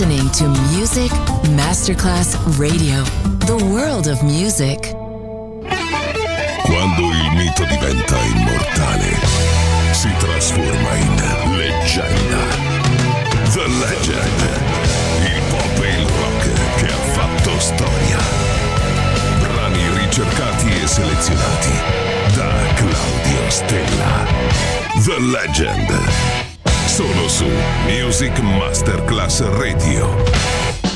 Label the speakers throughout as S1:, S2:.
S1: listening to Music Masterclass Radio, the world of music.
S2: Quando il mito diventa immortale, si trasforma in leggenda. The Legend, il pop e il rock che ha fatto storia. Brani ricercati e selezionati da Claudio Stella. The Legend, solo su Music Masterclass Radio.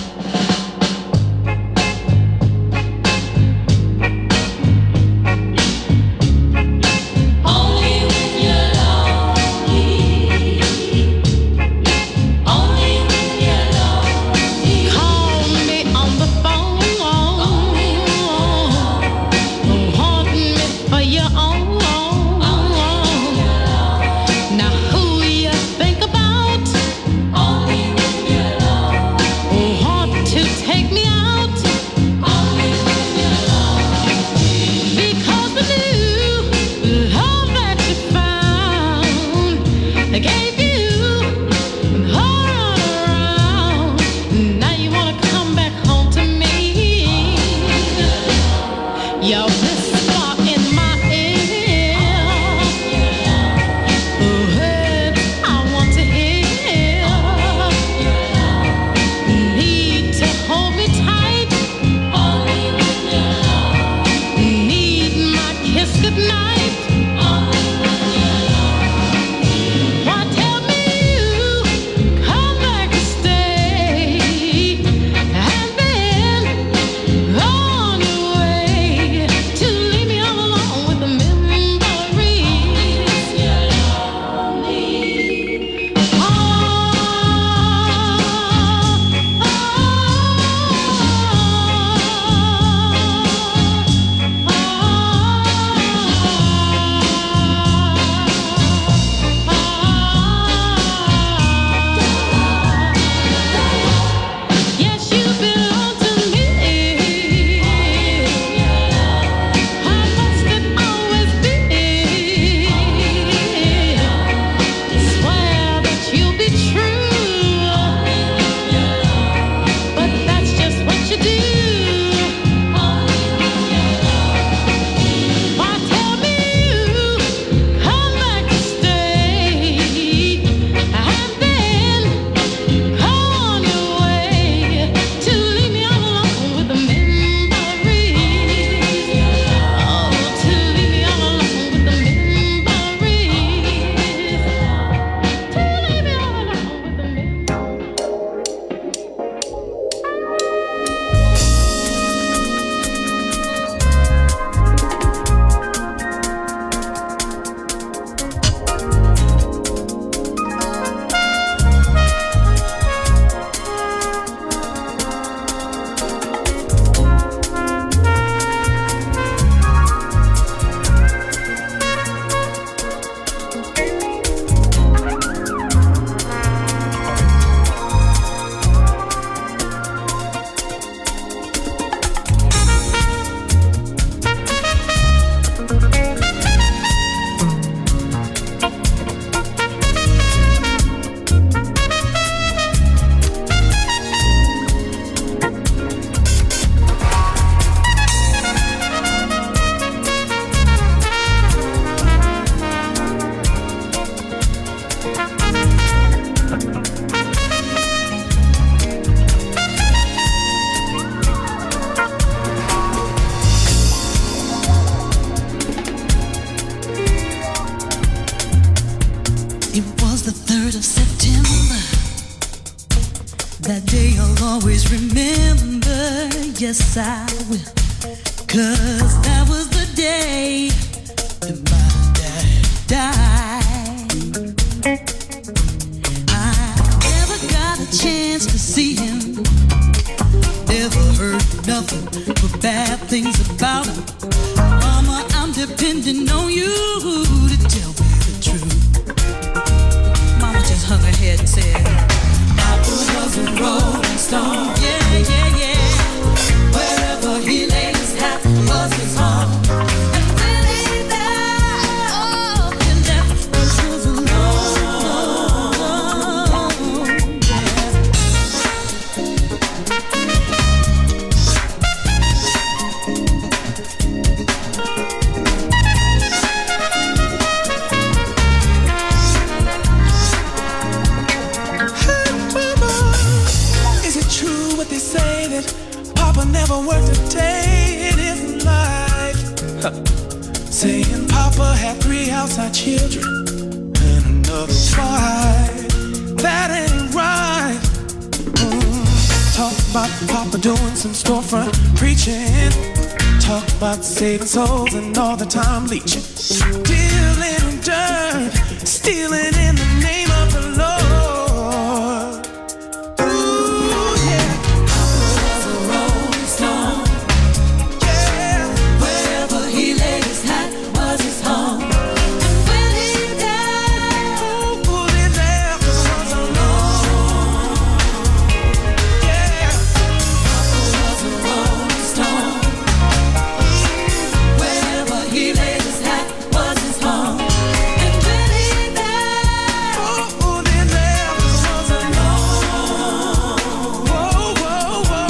S3: Yes, I will, 'cause that was the day that my dad died. I never got a chance to see him, never heard nothing but bad things about him. Mama, I'm depending on you to tell me the truth. Mama just hung her head and said, Papa was a rolling stone. Yeah, yeah, yeah. Wherever he laid his hat was his home. And when he died, he left us alone. Yeah.
S4: never worked a day in his life. Saying Papa had 3 outside children and another wife. That ain't right. Talk about Papa doing some storefront preaching. Talk about saving souls and all the time leeching. Dealing in dirt, stealing in the name of the Lord. Ooh, yeah. Papa was a rolling stone. Yeah. Wherever he laid his hat was his home. And when he died, who he left was alone. Yeah. Papa was a rolling stone. Wherever he laid his hat was his home. And when he died, who he left was alone. Whoa, whoa, whoa.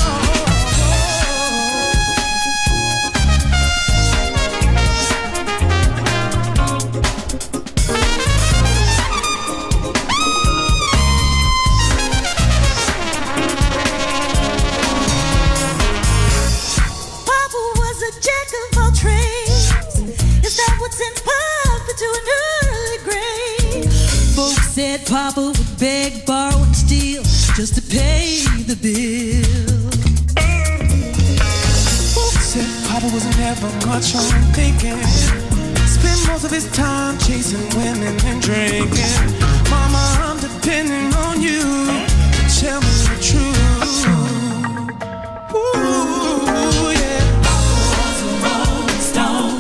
S4: Papa was a jack of all trades. Is that what sent Papa to an early grave? Folks said Papa would beg, borrow, and steal just to pay the bill. Folks said Papa was never much on thinking. Spent most of his time chasing women and drinking. Mama, I'm depending on you to tell me the truth. Ooh, yeah. Papa was a rolling stone.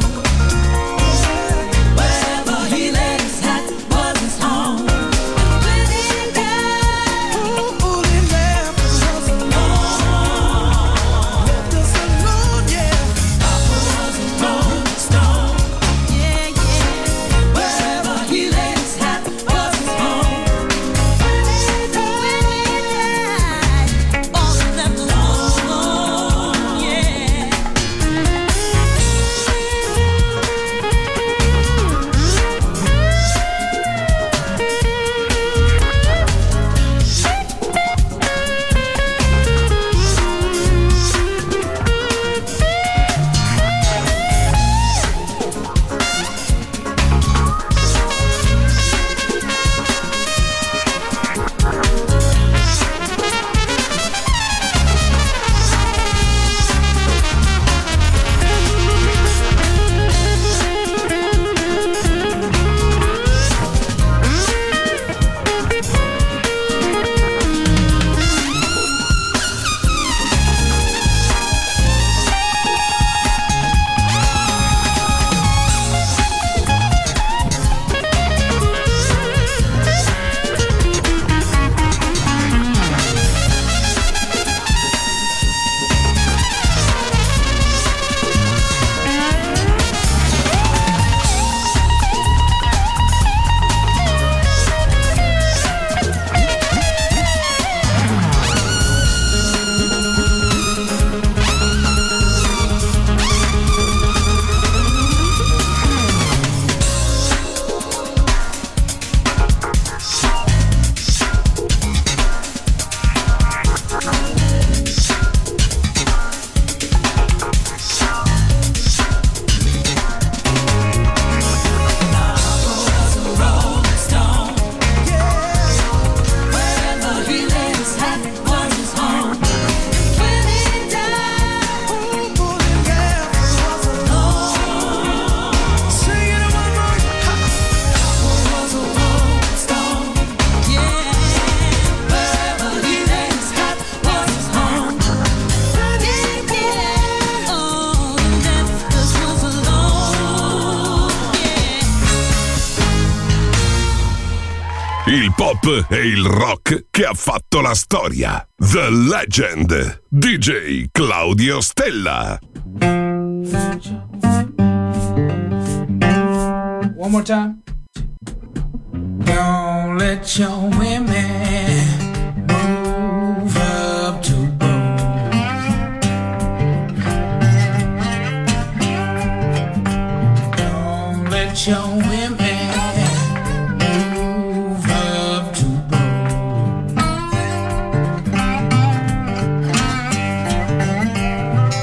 S4: Wherever he laid his hat was his home. When he died, who he left us alone. Left us alone, yeah. Papa was a rolling stone. Yeah, yeah. Wherever he laid his hat was his home. When he died, all he left us alone, yeah.
S2: Il pop e il rock che ha fatto la storia. The Legend. DJ Claudio Stella.
S5: One more time. Don't let your women move up to bone. Don't let your women move up to bone.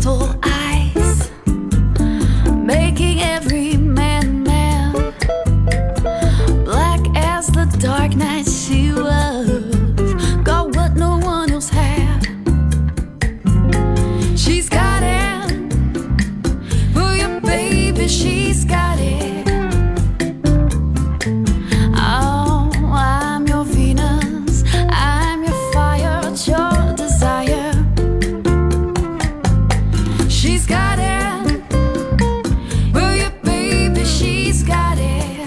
S6: crystal eyes, making every man mad. Black as the dark night she was, got what no one else had. She's got it, for your baby, she's got it. Oh, I'm your Venus, I'm your fire, your desire. She's got it, for your baby, she's got it.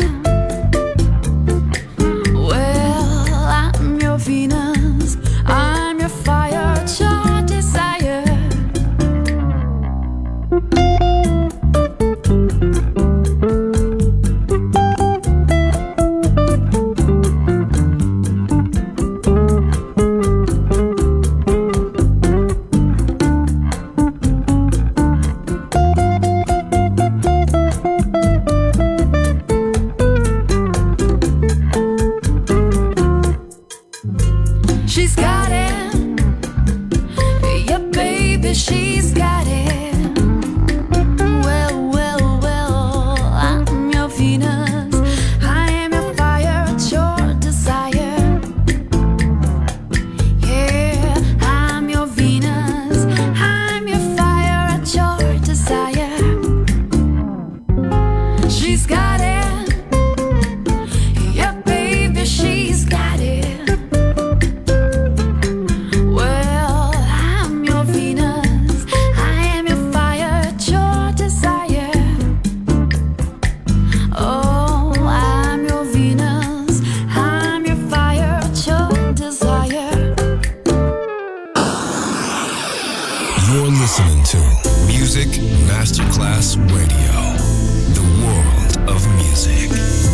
S6: Well, I'm your Venus, I'm your fire, your desire. She's got it, yeah, baby, she's got it. Well, well, well, I'm your Venus, I am your fire, it's your desire. Yeah, I'm your Venus, I'm your fire, it's your desire. She's got it, yeah, baby, she's got it. Well, I'm your Venus, I am your fire, it's your desire. Oh, I'm your Venus, I'm your fire, it's your desire.
S2: You're listening to Music Masterclass Radio, the world of music.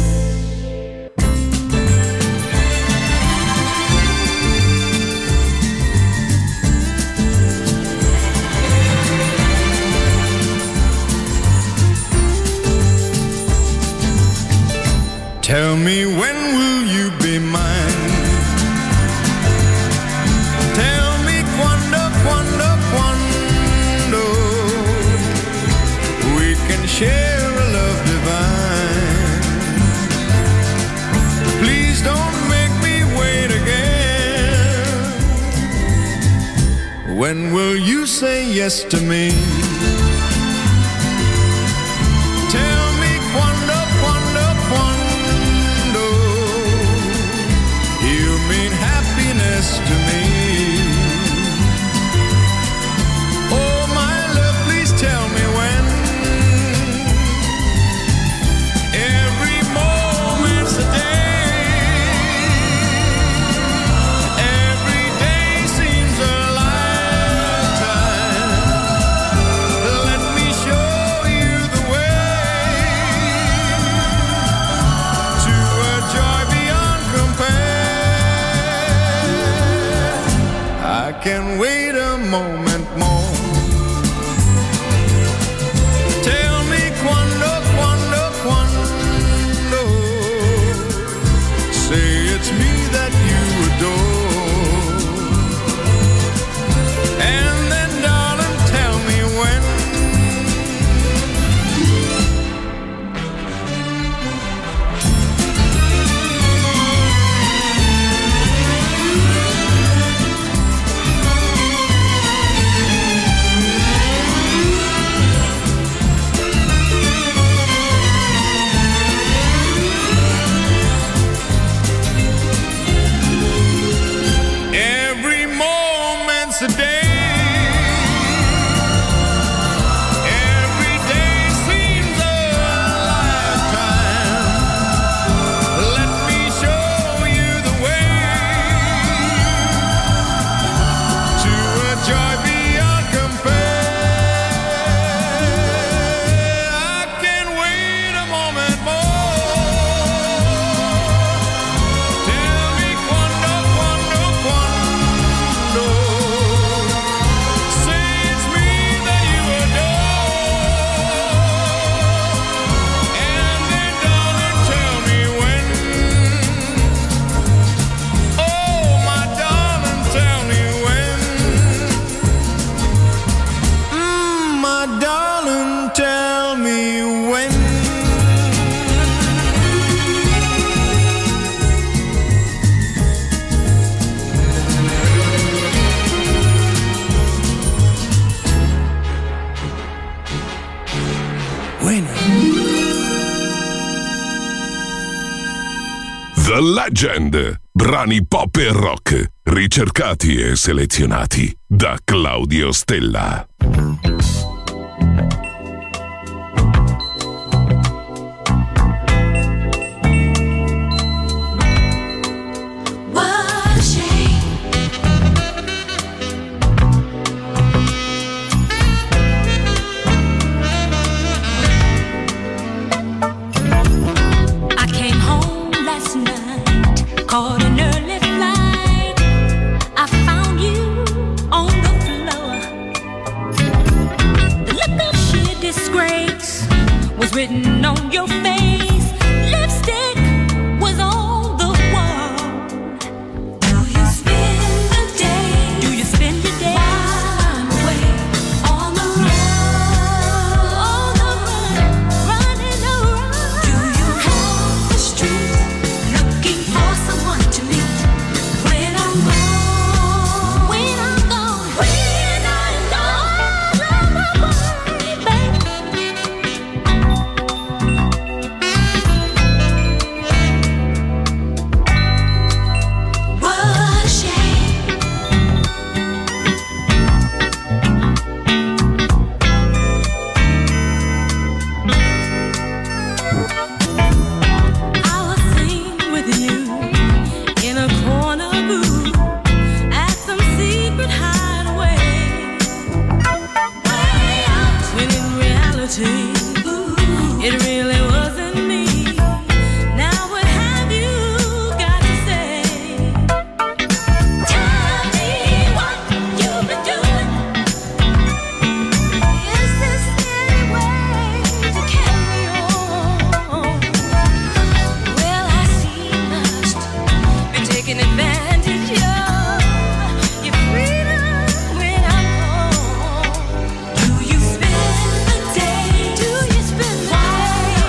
S7: Tell me, when will you be mine? Tell me quando, quando, quando we can share a love divine. Please don't make me wait again. When will you say yes to me? Tell me quando, quando, quando you mean happiness to me. Oh, my love, please tell me when. Every moment's a day. Every day seems a lifetime. Let me show you the way to a joy beyond compare. I can wait a moment more. Tell me quando, quando, quando. Say it's me that you adore. And then, darling, tell me when.
S2: The Legend. Brani pop e rock, ricercati e selezionati da Claudio Stella.
S8: Caught an early flight, I found you on the floor. The look of sheer disgrace was written on your face. Lipstick was on the wall. Do you spend the day? Do you spend your day? While I'm away on the run, running around. Do you have the street looking for someone to meet when I'm gone? When I'm gone, when I'm gone, baby. What a shame. I was seen with you in a corner booth at some secret hideaway. Way out. When in reality, it really wasn't me. Now what have you got to say? Tell me what you've been doing. Is this any way to carry on? Well, I see you must be taking advantage of your freedom when I'm gone. Do you spend the day? Do you spend the day?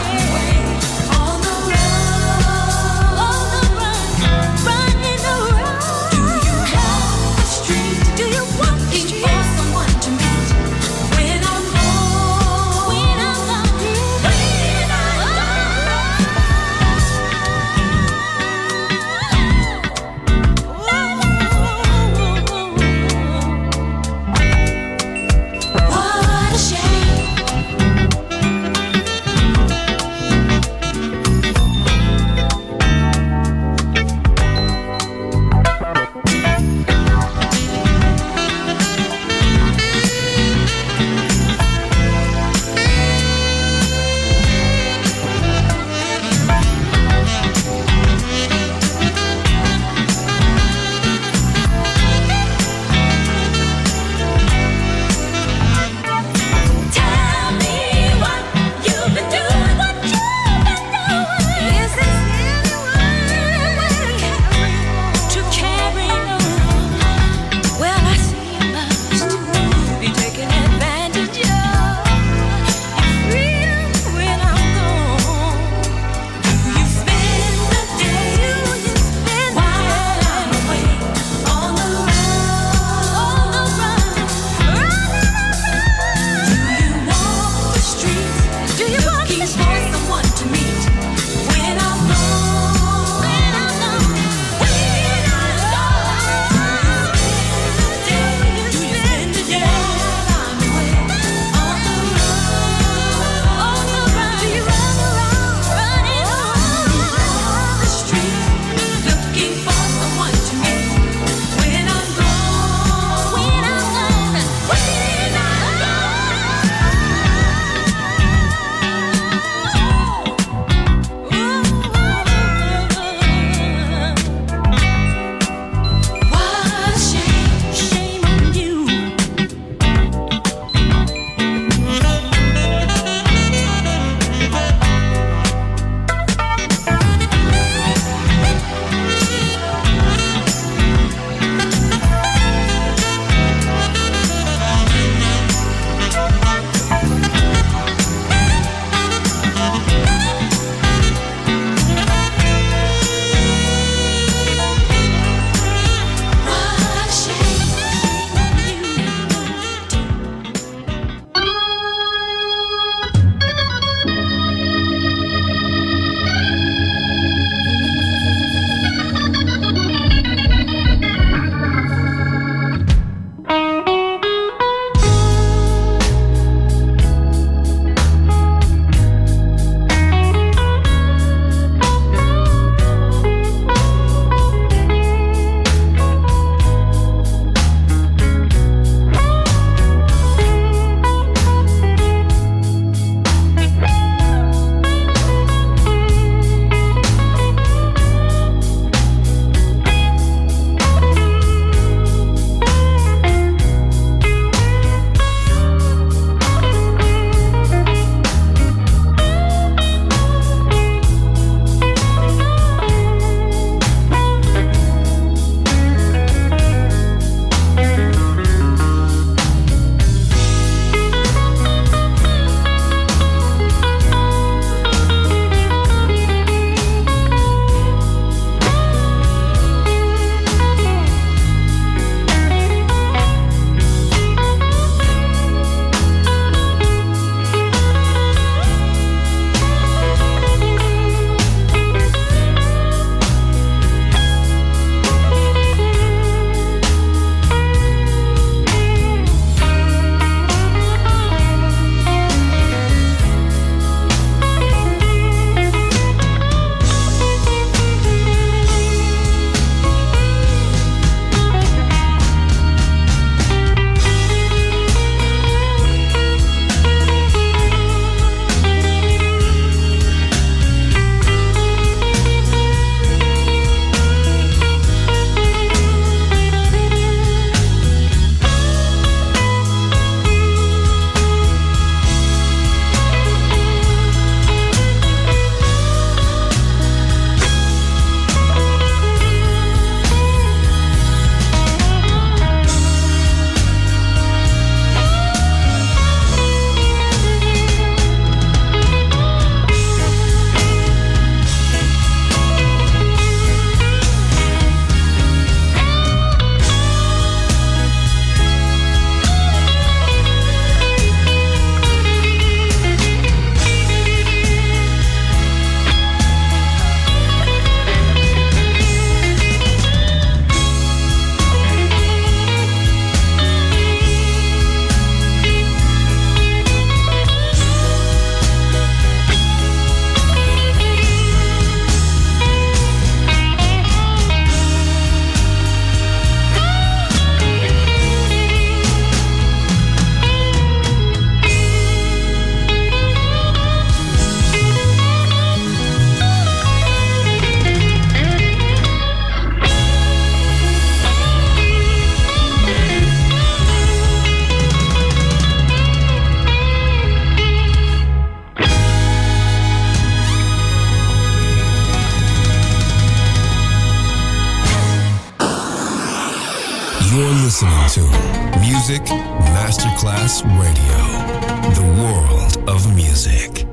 S9: Masterclass Radio, the world of music.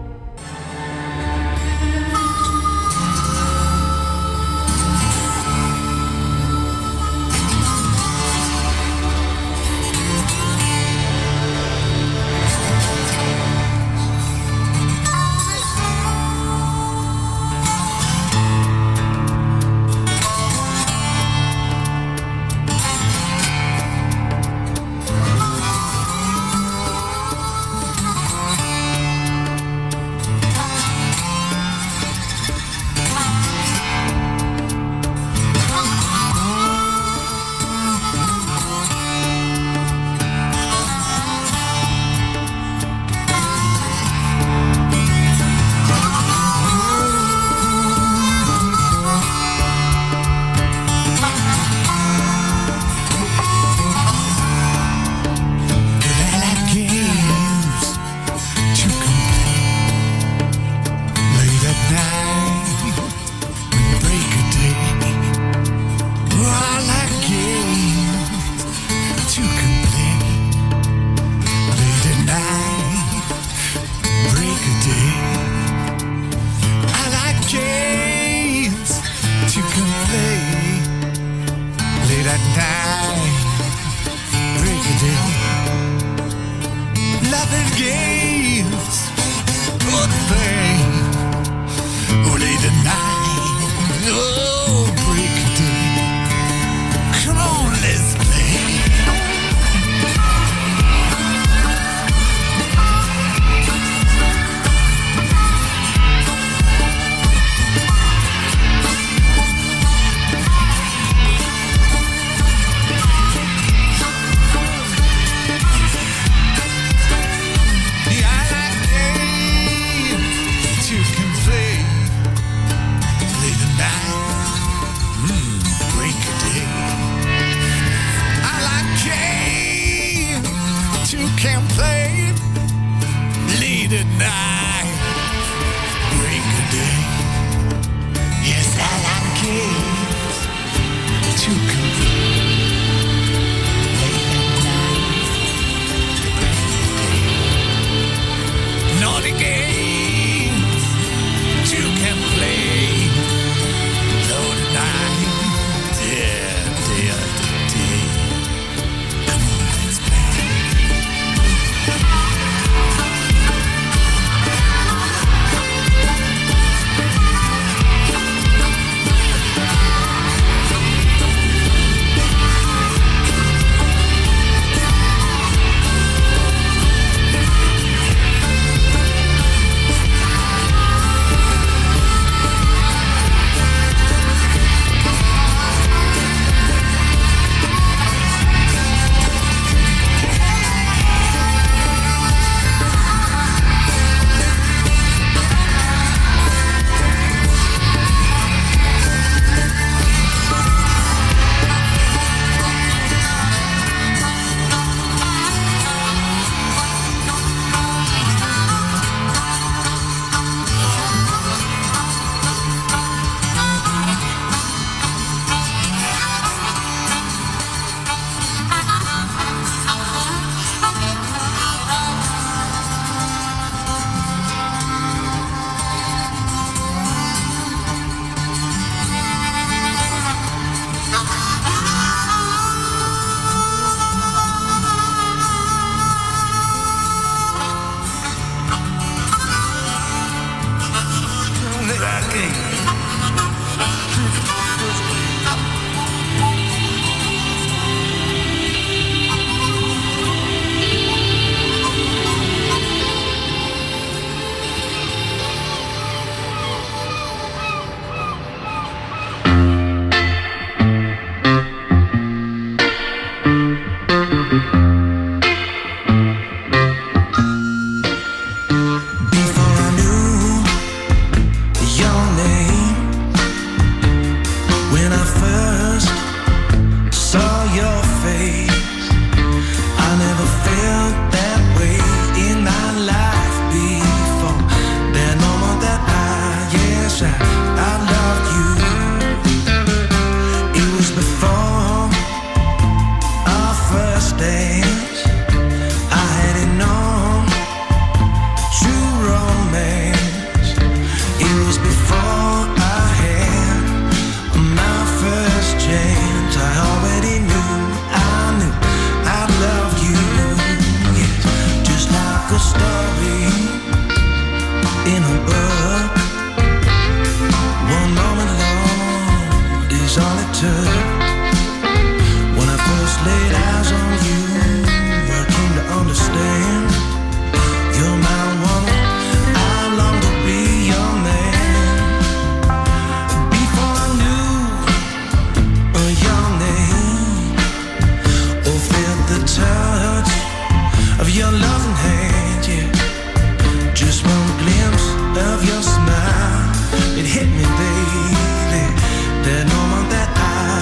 S4: like a story in a book. One moment long is all it took. When I first laid eyes on you, I came to understand you're my woman, I long to be your man. Before I knew your name or felt the touch of your loving hand, yeah. Just one glimpse of your smile, it hit me, baby. That moment that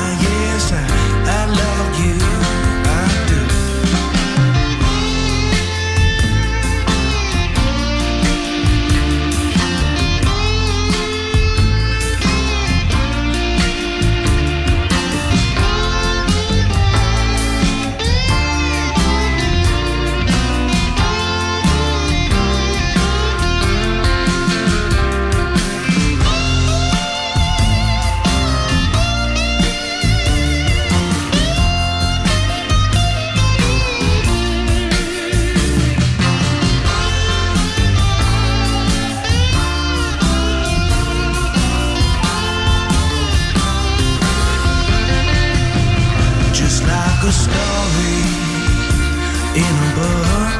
S4: I love you, I do. A story in a book.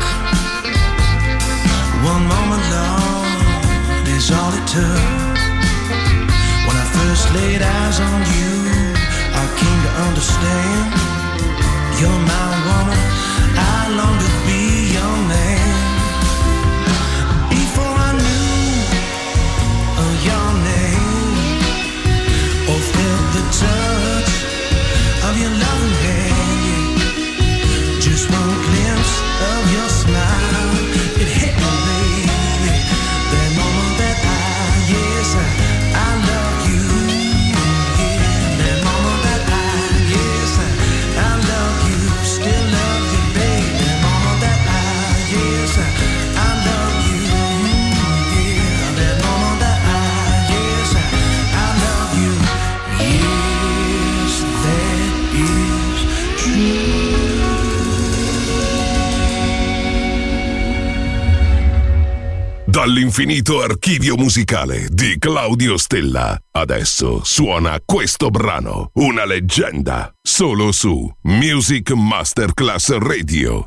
S4: One moment long is all it took. When I first laid eyes on you, I came to understand you're my woman, I long to be your man. Before I knew your name or felt the touch of your loving hand, just one glimpse of your smile, it hit me, baby. That moment that I love you, yeah. That moment that I love you, still love you, baby. That moment that I love you, yeah. That moment that I love you, yes, that is true.
S2: Dall'infinito archivio musicale di Claudio Stella. Adesso suona questo brano, una leggenda, solo su Music Masterclass Radio.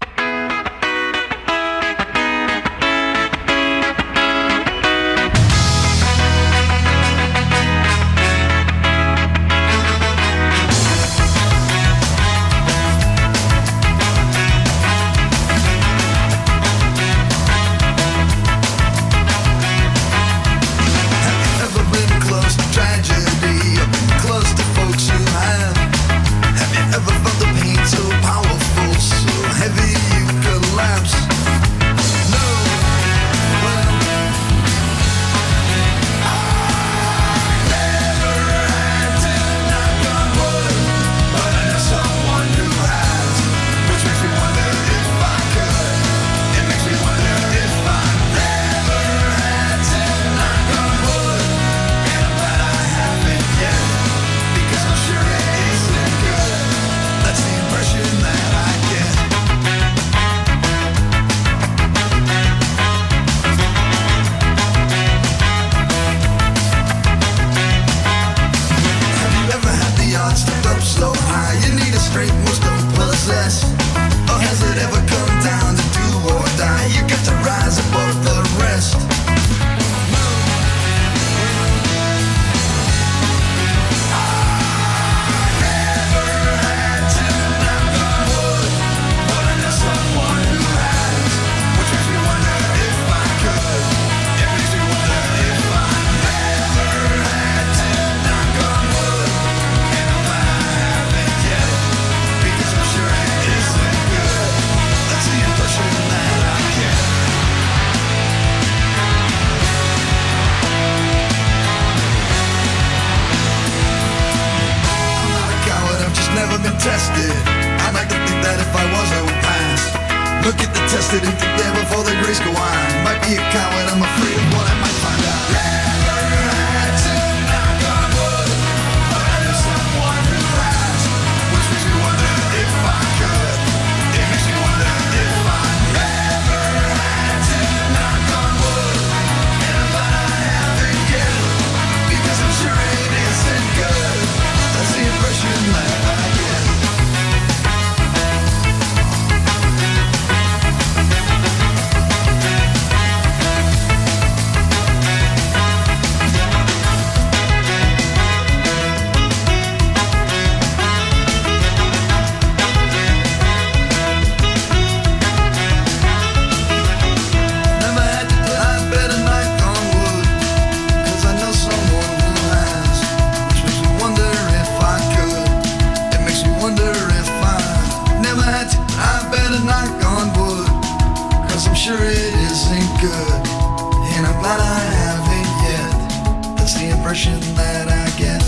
S10: tested. I'd like to think that if I was, I would pass. Look at the tested and think there before the grace go on. Might be a coward, I'm afraid of what I might find out. Never had to knock on wood, but I know someone who has. Which makes me wonder if I could. It makes me wonder if I never had sure it isn't good, and I'm glad I haven't yet. That's the impression that I get.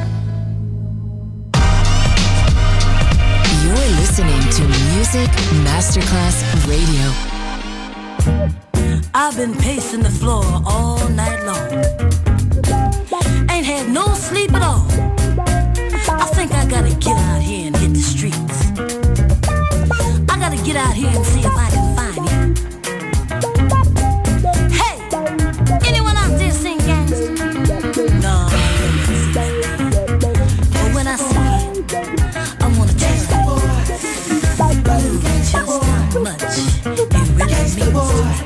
S1: You're listening to Music Masterclass Radio.
S11: I've been pacing the floor all night long. Ain't had no sleep at all. I think I gotta get out here and hit the streets. I gotta get out here and see if I can find you. Hey, anyone out there sing gangster? No, but when I see it, I wanna tell you just how much it really means to me.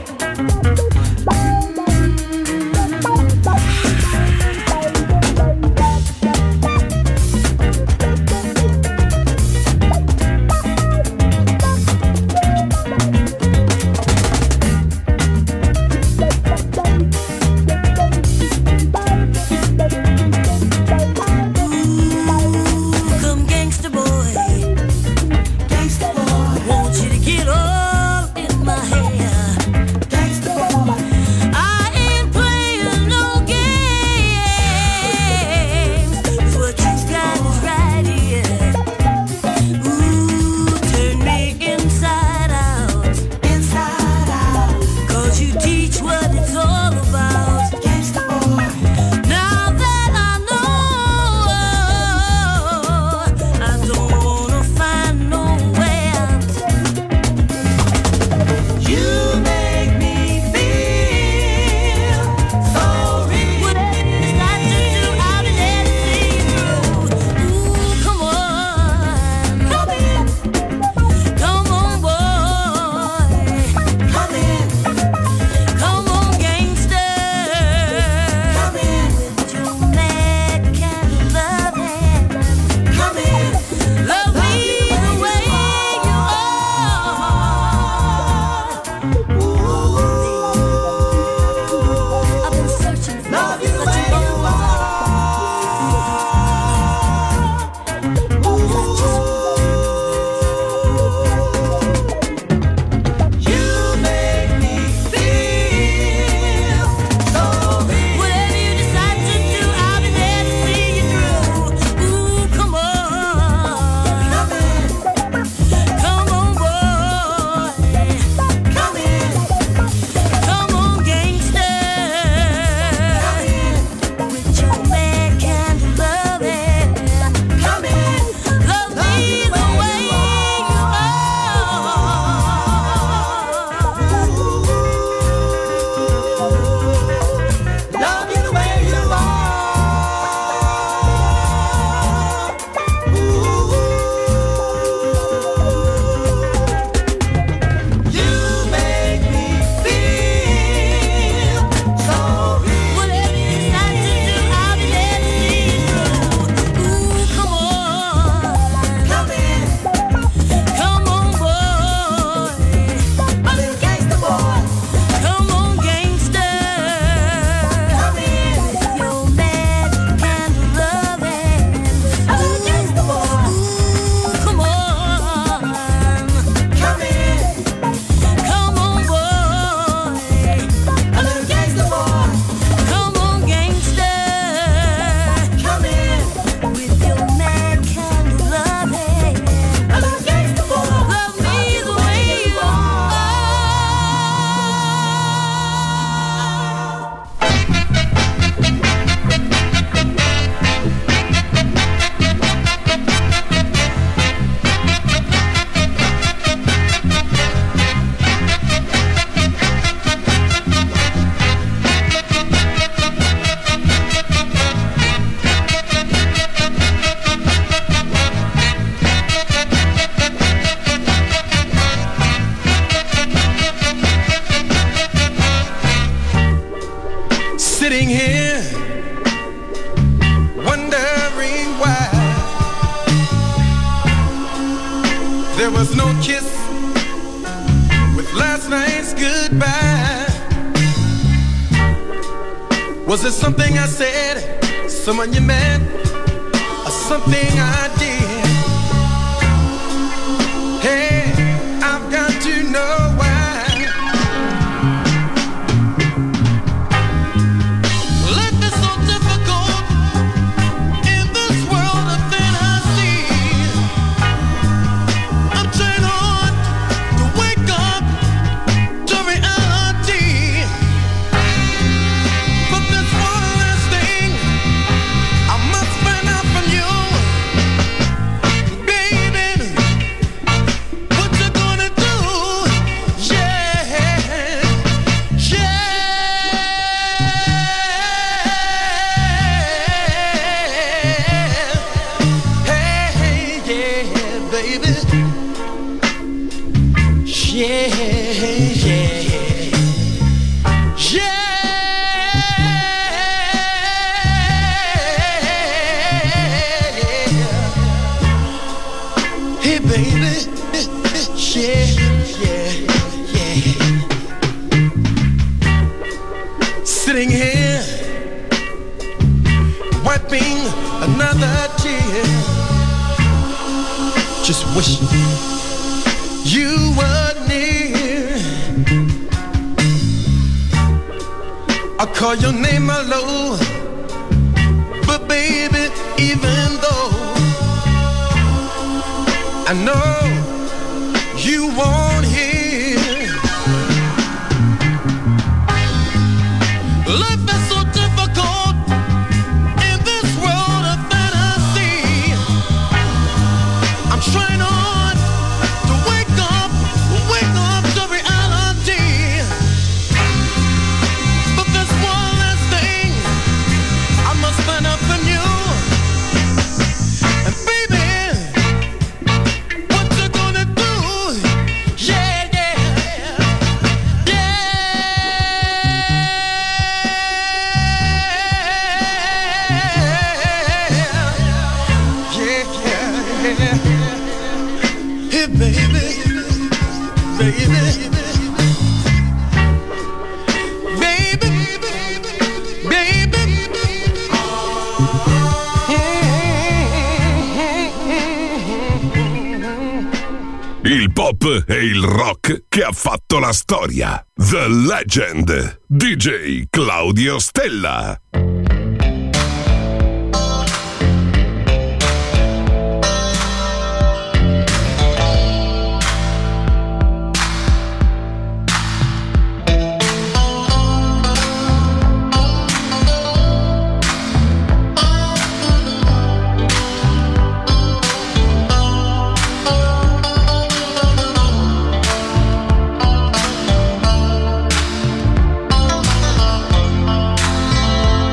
S7: Was it something I said, someone you met, or something I did? Hey, I've got to know why wish you were near. I call your name hello, but baby, even though I know you won't hear, life is so difficult in this world of fantasy. I'm trying hard to wake up to reality. But there's one last thing I must find out from you. And baby, what you gonna do? Yeah, yeah, yeah. Yeah, yeah. Hey, baby, baby, baby,
S2: Il pop e il rock che ha fatto la storia. The Legend. DJ Claudio Stella.
S6: Thank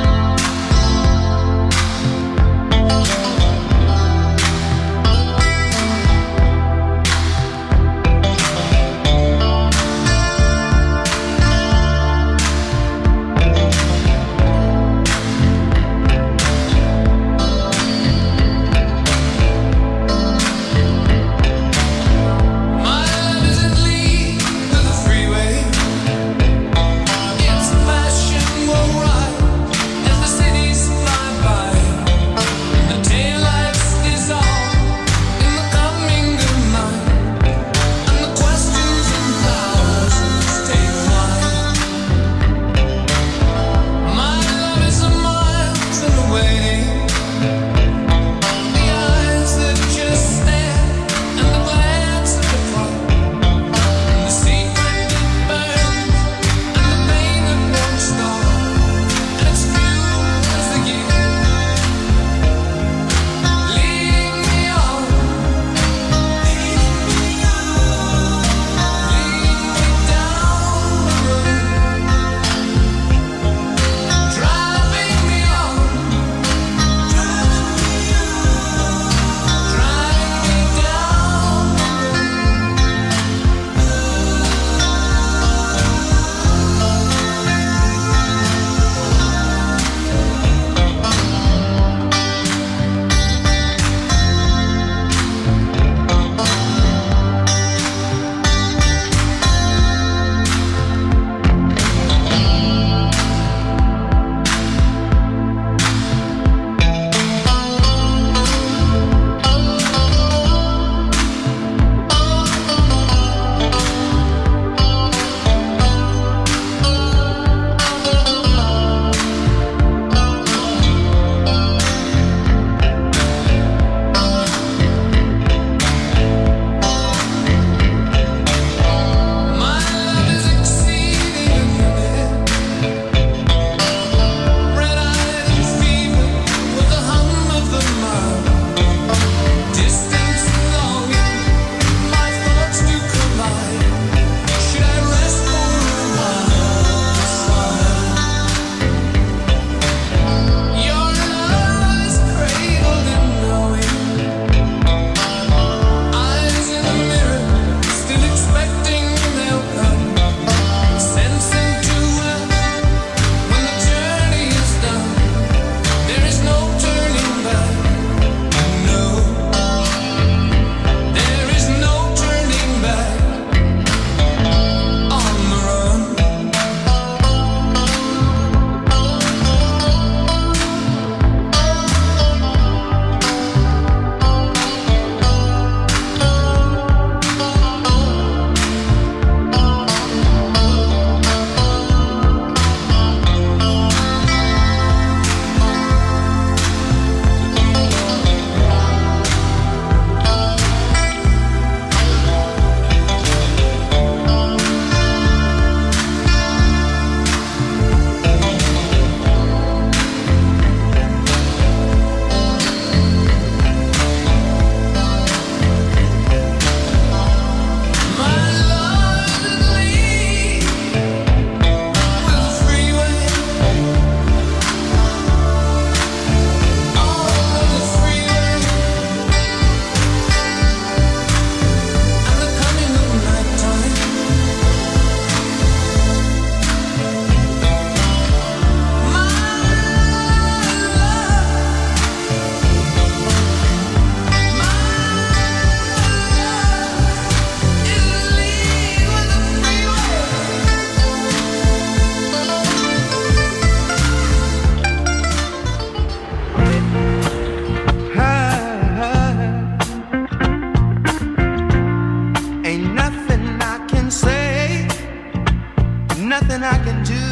S7: nothing I can do.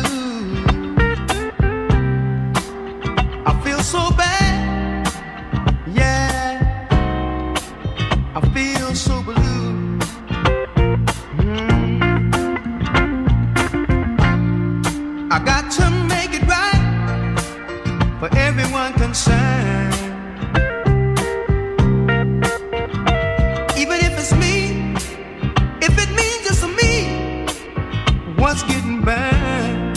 S7: I feel so bad, yeah, I feel so blue. I got to make it right for everyone concerned. Even if it's me, if it means just me, what's getting burned?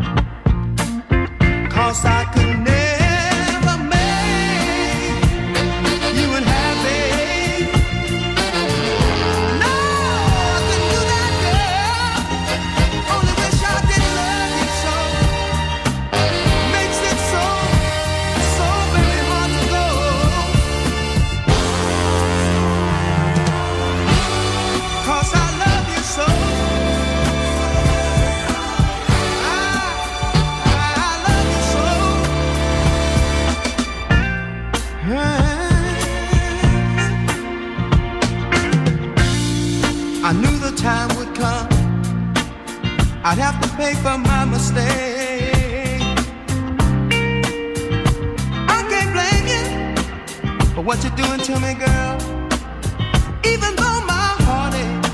S7: 'Cause I could never make you unhappy. No, I couldn't do that, girl. Only wish I didn't love you so. Makes it so, so very hard to go. 'Cause I love you so. I love you so. I knew the time would come, I'd have to pay for my mistake. I can't blame you for what you're doing to me, girl. Even though my heart aches.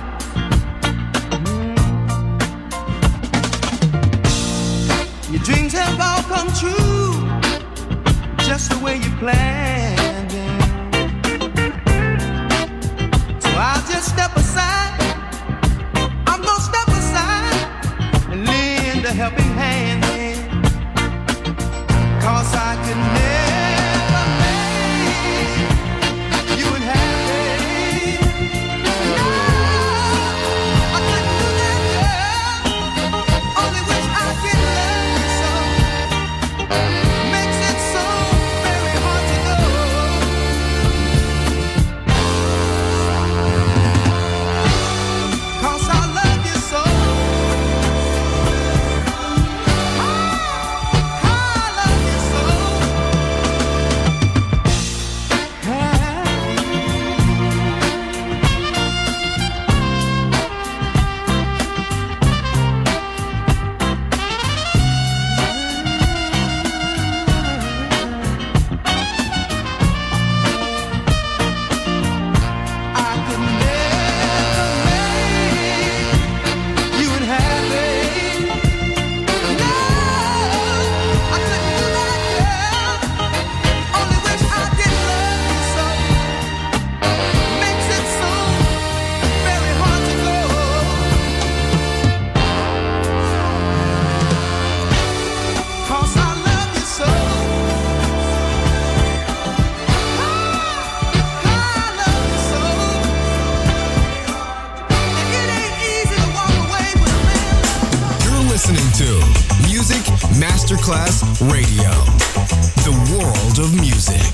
S7: Your dreams have all come true, just the way you planned it. So I'll just step aside. I'm gonna step aside and lend a helping hand. 'Cause I could never make you unhappy. No, I couldn't do that, girl. Only wish I could love you so. Makes it so very hard to go. 'Cause I love you so. I love you so. I could never make you unhappy. No, I couldn't do that, girl. Only wish I did love you so. Makes it so very hard to go. 'Cause I love you so. I love you so. And it ain't easy to walk away with a man.
S9: You're listening to Music Masterclass Radio, the world of music.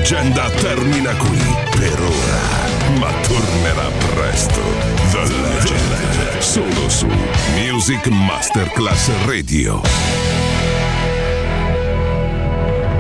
S2: leggenda termina qui per ora, ma tornerà presto. The Legend, solo su Music Masterclass Radio.